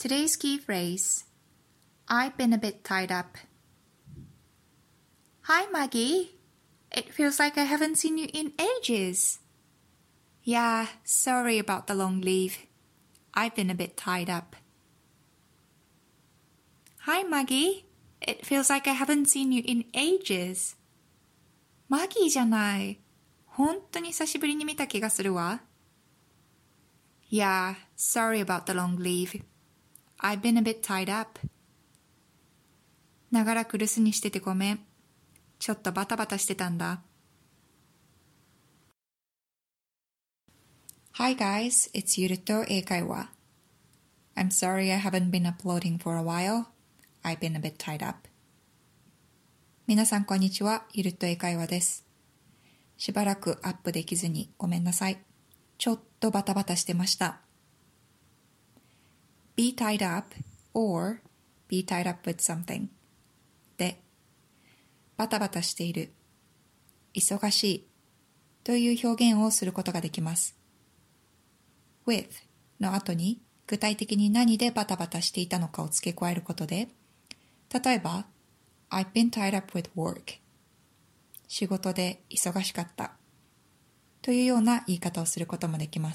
Today's key phrase. I've been a bit tied up. Hi, Maggie. It feels like I haven't seen you in ages. Yeah, sorry about the long leave. I've been a bit tied up. Hi, Maggie. It feels like I haven't seen you in ages. マギーじゃない。本当に久しぶりに見た気がするわ。Yeah, sorry about the long leave. I've been a bit tied up. 長らく留守にしててごめん。ちょっとバタバタしてたんだ。Hi guys, it's ゆると英会話。I'm sorry I haven't been uploading for a while. I've been a bit tied up. 皆さんこんにちは、ゆると英会話です。しばらくアップできずにごめんなさい。ちょっとバタバタしてました。be tied up or be tied up with something で、バタバタしている、忙しいという表現をすることができます。with の後に具体的に何でバタバタしていたのかを付け加えることで、例えば I've been tied up with work 仕事で忙しかったというような言い方をすることもできます。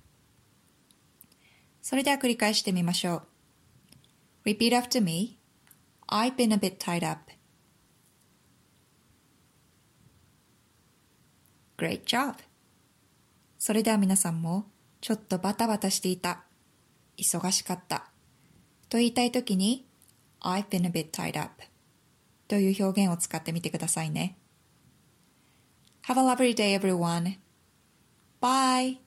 それでは繰り返してみましょう。Repeat after me. I've been a bit tied up. Great job. それでは皆さんもちょっとバタバタしていた、忙しかったと言いたいときに I've been a bit tied up という表現を使ってみてくださいね。Have a lovely day everyone. Bye.